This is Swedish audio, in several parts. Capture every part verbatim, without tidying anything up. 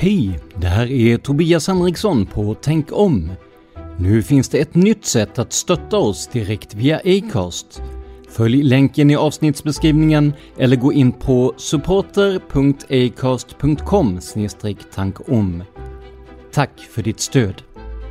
Hej, det här är Tobias Henriksson på Tänk om. Nu finns det ett nytt sätt att stötta oss direkt via Acast. Följ länken i avsnittsbeskrivningen eller gå in på supporter punkt acast punkt com slash tankom. Tack för ditt stöd.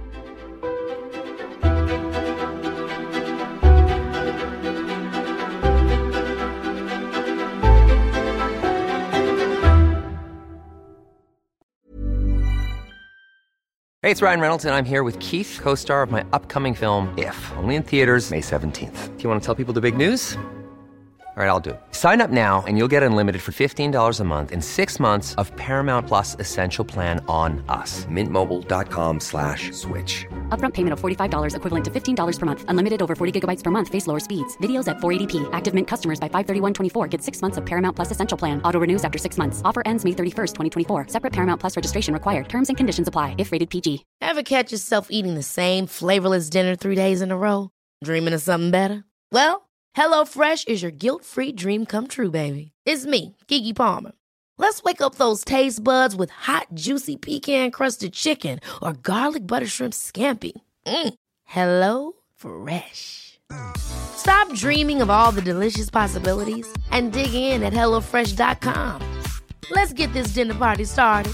Hey, it's Ryan Reynolds, and I'm here with Keith, co-star of my upcoming film, If, only in theaters May seventeenth. Do you want to tell people the big news? All right, I'll do it. Sign up now and you'll get unlimited for fifteen dollars a month and six months of Paramount Plus Essential Plan on us. Mint Mobile dot com slash switch. Upfront payment of forty-five dollars equivalent to fifteen dollars per month. Unlimited over forty gigabytes per month. Face lower speeds. Videos at four eighty p. Active Mint customers by five thirty-one twenty-four get six months of Paramount Plus Essential Plan. Auto renews after six months. Offer ends May thirty-first, twenty twenty-four. Separate Paramount Plus registration required. Terms and conditions apply if rated P G. Ever catch yourself eating the same flavorless dinner three days in a row? Dreaming of something better? Well, HelloFresh is your guilt-free dream come true, baby. It's me, Keke Palmer. Let's wake up those taste buds with hot, juicy pecan-crusted chicken or garlic butter shrimp scampi. Mm. Hello Fresh. Stop dreaming of all the delicious possibilities and dig in at hello fresh dot com. Let's get this dinner party started.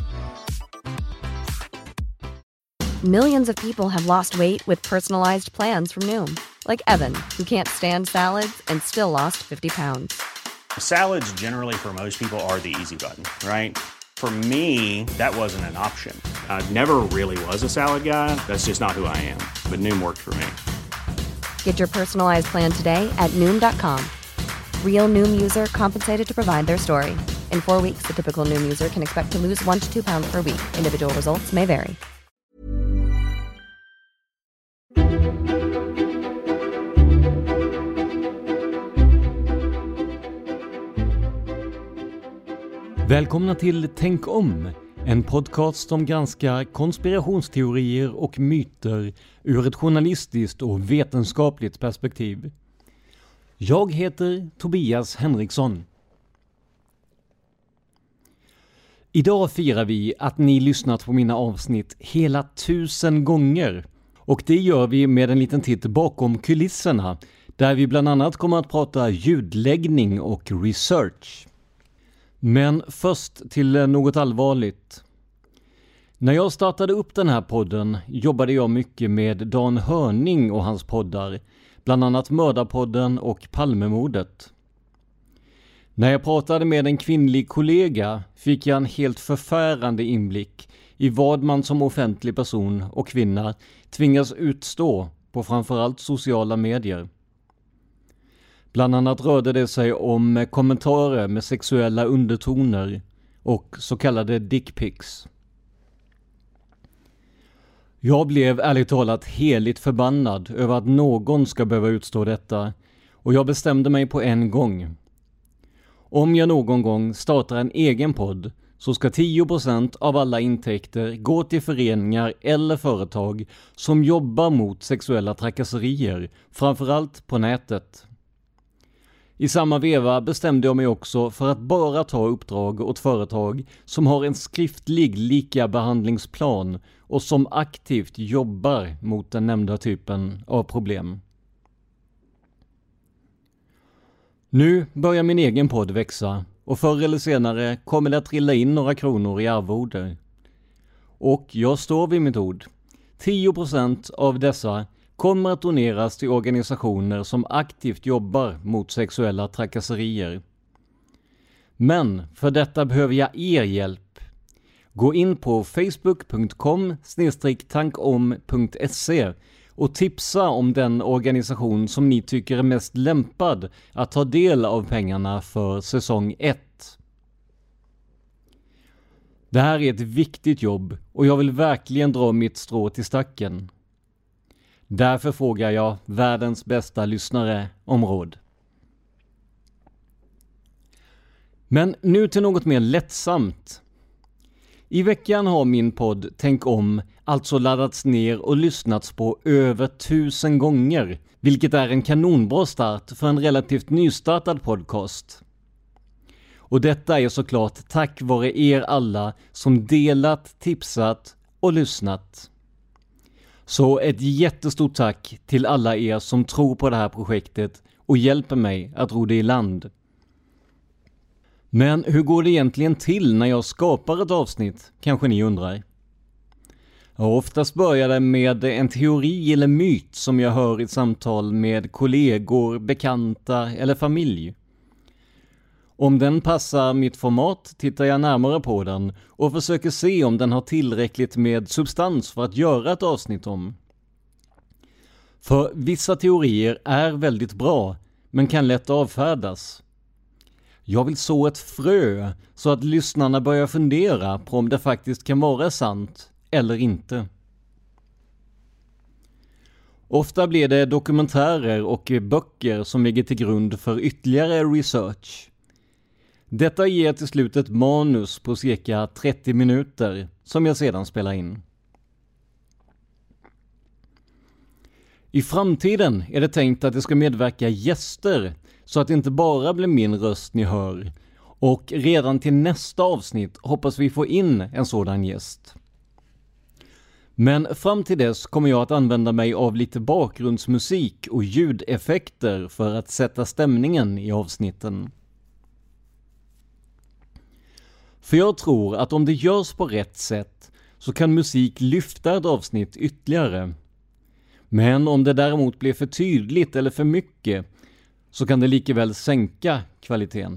Millions of people have lost weight with personalized plans from Noom. Like Evan, who can't stand salads and still lost fifty pounds. Salads generally for most people are the easy button, right? For me, that wasn't an option. I never really was a salad guy. That's just not who I am. But Noom worked for me. Get your personalized plan today at Noom dot com. Real Noom user compensated to provide their story. In four weeks, the typical Noom user can expect to lose one to two pounds per week. Individual results may vary. Välkomna till Tänk om, en podcast som granskar konspirationsteorier och myter ur ett journalistiskt och vetenskapligt perspektiv. Jag heter Tobias Henriksson. Idag firar vi att ni lyssnat på mina avsnitt hela tusen gånger. Och det gör vi med en liten titt bakom kulisserna, där vi bland annat kommer att prata ljudläggning och research. Men först till något allvarligt. När jag startade upp den här podden jobbade jag mycket med Dan Hörning och hans poddar, bland annat Mördarpodden och Palmemordet. När jag pratade med en kvinnlig kollega fick jag en helt förfärande inblick i vad man som offentlig person och kvinna tvingas utstå på framförallt sociala medier. Bland annat rörde det sig om kommentarer med sexuella undertoner och så kallade dickpics. Jag blev ärligt talat heligt förbannad över att någon ska behöva utstå detta, och jag bestämde mig på en gång. Om jag någon gång startar en egen podd så ska tio procent av alla intäkter gå till föreningar eller företag som jobbar mot sexuella trakasserier, framförallt på nätet. I samma veva bestämde jag mig också för att bara ta uppdrag åt företag som har en skriftlig likabehandlingsplan och som aktivt jobbar mot den nämnda typen av problem. Nu börjar min egen podd växa, och förr eller senare kommer det att trilla in några kronor i arvoder. Och jag står vid mitt ord. tio procent av dessa kommer att doneras till organisationer som aktivt jobbar mot sexuella trakasserier. Men för detta behöver jag er hjälp. Gå in på facebook punkt com slash tankom punkt se och tipsa om den organisation som ni tycker är mest lämpad att ta del av pengarna för säsong ett. Det här är ett viktigt jobb och jag vill verkligen dra mitt strå till stacken. Därför frågar jag världens bästa lyssnare om råd. Men nu till något mer lättsamt. I veckan har min podd Tänk om alltså laddats ner och lyssnats på över tusen gånger, vilket är en kanonbra start för en relativt nystartad podcast. Och detta är såklart tack vare er alla som delat, tipsat och lyssnat. Så ett jättestort tack till alla er som tror på det här projektet och hjälper mig att ro det i land. Men hur går det egentligen till när jag skapar ett avsnitt, kanske ni undrar? Ja, oftast börjar det med en teori eller myt som jag hör i ett samtal med kollegor, bekanta eller familj. Om den passar mitt format tittar jag närmare på den och försöker se om den har tillräckligt med substans för att göra ett avsnitt om. För vissa teorier är väldigt bra men kan lätt avfärdas. Jag vill så ett frö så att lyssnarna börjar fundera på om det faktiskt kan vara sant eller inte. Ofta blir det dokumentärer och böcker som ligger till grund för ytterligare research. Detta ger till slut ett manus på cirka trettio minuter som jag sedan spelar in. I framtiden är det tänkt att det ska medverka gäster så att det inte bara blir min röst ni hör. Och redan till nästa avsnitt hoppas vi få in en sådan gäst. Men fram till dess kommer jag att använda mig av lite bakgrundsmusik och ljudeffekter för att sätta stämningen i avsnitten. För jag tror att om det görs på rätt sätt så kan musik lyfta ett avsnitt ytterligare. Men om det däremot blir för tydligt eller för mycket så kan det lika väl sänka kvaliteten.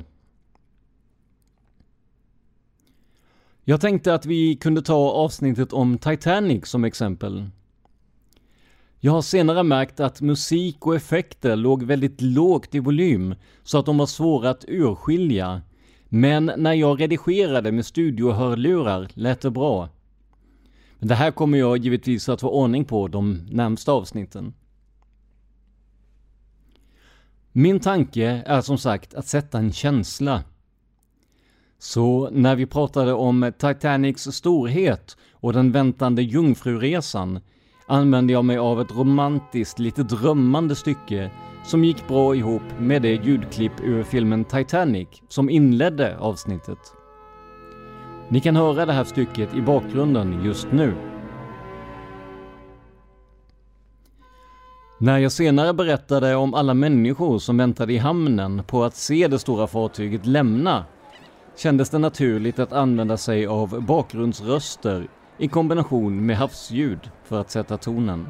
Jag tänkte att vi kunde ta avsnittet om Titanic som exempel. Jag har senare märkt att musik och effekter låg väldigt lågt i volym så att de var svåra att urskilja. Men när jag redigerade med studiohörlurar lät det bra. Men det här kommer jag givetvis att få ordning på de närmsta avsnitten. Min tanke är som sagt att sätta en känsla. Så när vi pratade om Titanics storhet och den väntande jungfruresan använde jag mig av ett romantiskt, lite drömmande stycke som gick bra ihop med det ljudklipp ur filmen Titanic som inledde avsnittet. Ni kan höra det här stycket i bakgrunden just nu. När jag senare berättade om alla människor som väntade i hamnen på att se det stora fartyget lämna kändes det naturligt att använda sig av bakgrundsröster i kombination med havsljud för att sätta tonen.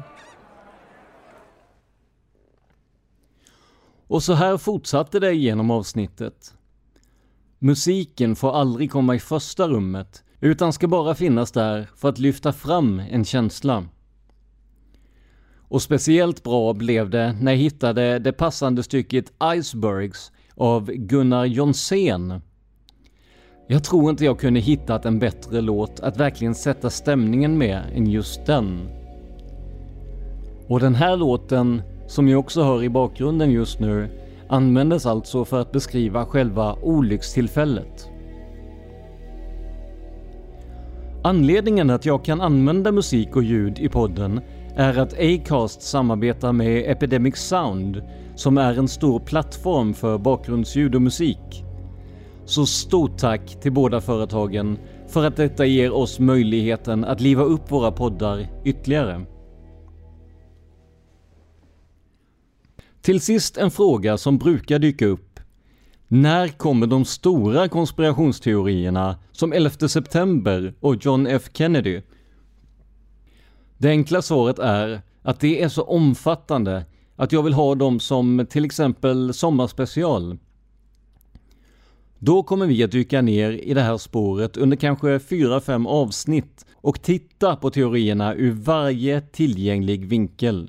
Och så här fortsatte det genom avsnittet. Musiken får aldrig komma i första rummet utan ska bara finnas där för att lyfta fram en känsla. Och speciellt bra blev det när jag hittade det passande stycket Icebergs av Gunnar Jonsén. Jag tror inte jag kunde hittat en bättre låt att verkligen sätta stämningen med än just den. Och den här låten, som jag också hör i bakgrunden just nu, användes alltså för att beskriva själva olyckstillfället. Anledningen att jag kan använda musik och ljud i podden är att Acast samarbetar med Epidemic Sound som är en stor plattform för bakgrundsljud och musik. Så stort tack till båda företagen för att detta ger oss möjligheten att liva upp våra poddar ytterligare. Till sist en fråga som brukar dyka upp. När kommer de stora konspirationsteorierna som elfte september och John F. Kennedy? Det enkla svaret är att det är så omfattande att jag vill ha dem som till exempel sommarspecial. Då kommer vi att dyka ner i det här spåret under kanske fyra fem avsnitt och titta på teorierna ur varje tillgänglig vinkel.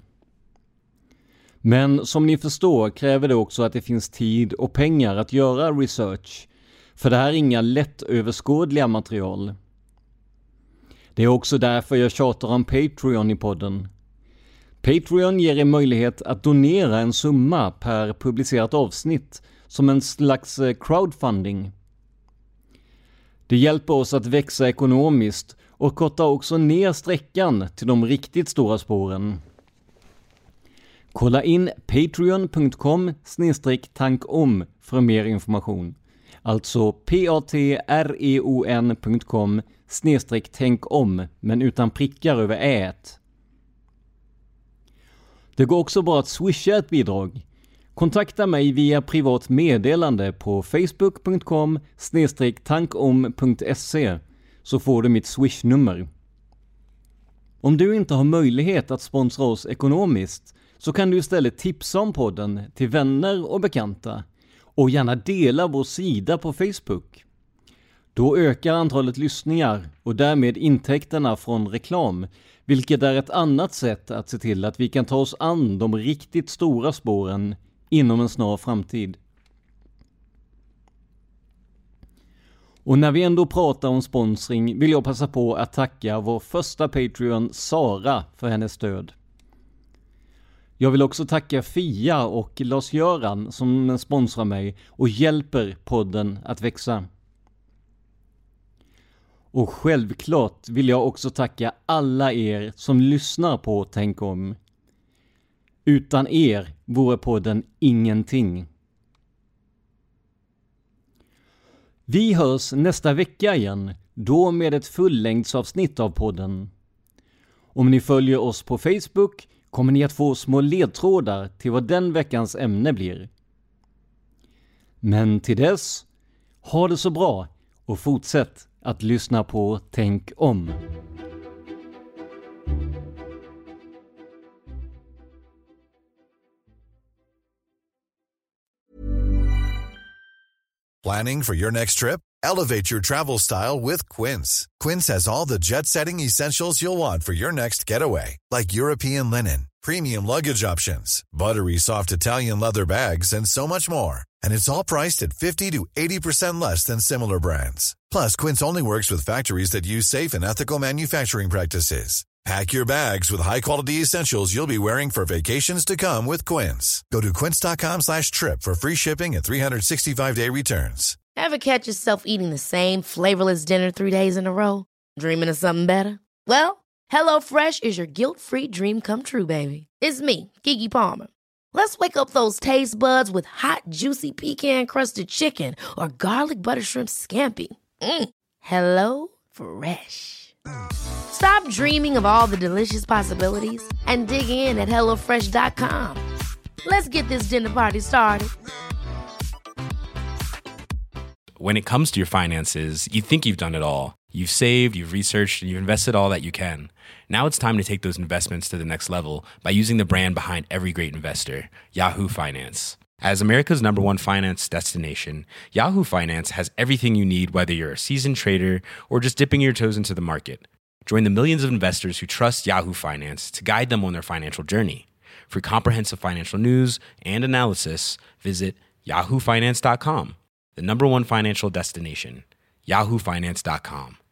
Men som ni förstår kräver det också att det finns tid och pengar att göra research, för det här är inga lättöverskådliga material. Det är också därför jag tjatar om Patreon i podden. Patreon ger er möjlighet att donera en summa per publicerat avsnitt som en slags crowdfunding. Det hjälper oss att växa ekonomiskt och kortar också ner sträckan till de riktigt stora spåren. Kolla in patreon punkt com slash tankom för mer information. Alltså patreon punkt com snedstreck tänk om, men utan prickar över ät. Det går också bra att swisha ett bidrag. Kontakta mig via privat meddelande på facebook punkt com snedstreck tankom punkt se så får du mitt swishnummer. Om du inte har möjlighet att sponsra oss ekonomiskt så kan du istället tipsa om podden till vänner och bekanta och gärna dela vår sida på Facebook. Då ökar antalet lyssningar och därmed intäkterna från reklam, vilket är ett annat sätt att se till att vi kan ta oss an de riktigt stora spåren inom en snar framtid. Och när vi ändå pratar om sponsring vill jag passa på att tacka vår första Patreon Sara för hennes stöd. Jag vill också tacka Fia och Lars-Göran som sponsrar mig och hjälper podden att växa. Och självklart vill jag också tacka alla er som lyssnar på Tänk om. Utan er vore podden ingenting. Vi hörs nästa vecka igen, då med ett fullängdsavsnitt av podden. Om ni följer oss på Facebook kommer ni att få små ledtrådar till vad den veckans ämne blir. Men till dess, ha det så bra och fortsätt att lyssna på Tänk om. Planning for your next trip? Elevate your travel style with Quince. Quince has all the jet-setting essentials you'll want for your next getaway, like European linen, premium luggage options, buttery soft Italian leather bags, and so much more. And it's all priced at fifty to eighty percent less than similar brands. Plus, Quince only works with factories that use safe and ethical manufacturing practices. Pack your bags with high-quality essentials you'll be wearing for vacations to come with Quince. Go to quince.com slash trip for free shipping and three sixty-five day returns. Ever catch yourself eating the same flavorless dinner three days in a row? Dreaming of something better? Well, HelloFresh is your guilt-free dream come true, baby. It's me, Keke Palmer. Let's wake up those taste buds with hot, juicy pecan-crusted chicken or garlic butter shrimp scampi. Mm. Hello Fresh. Stop dreaming of all the delicious possibilities and dig in at hello fresh dot com. Let's get this dinner party started. When it comes to your finances, you think you've done it all. You've saved, you've researched, and you've invested all that you can. Now it's time to take those investments to the next level by using the brand behind every great investor, Yahoo Finance. As America's number one finance destination, Yahoo Finance has everything you need, whether you're a seasoned trader or just dipping your toes into the market. Join the millions of investors who trust Yahoo Finance to guide them on their financial journey. For comprehensive financial news and analysis, visit yahoo finance dot com, the number one financial destination, yahoo finance dot com.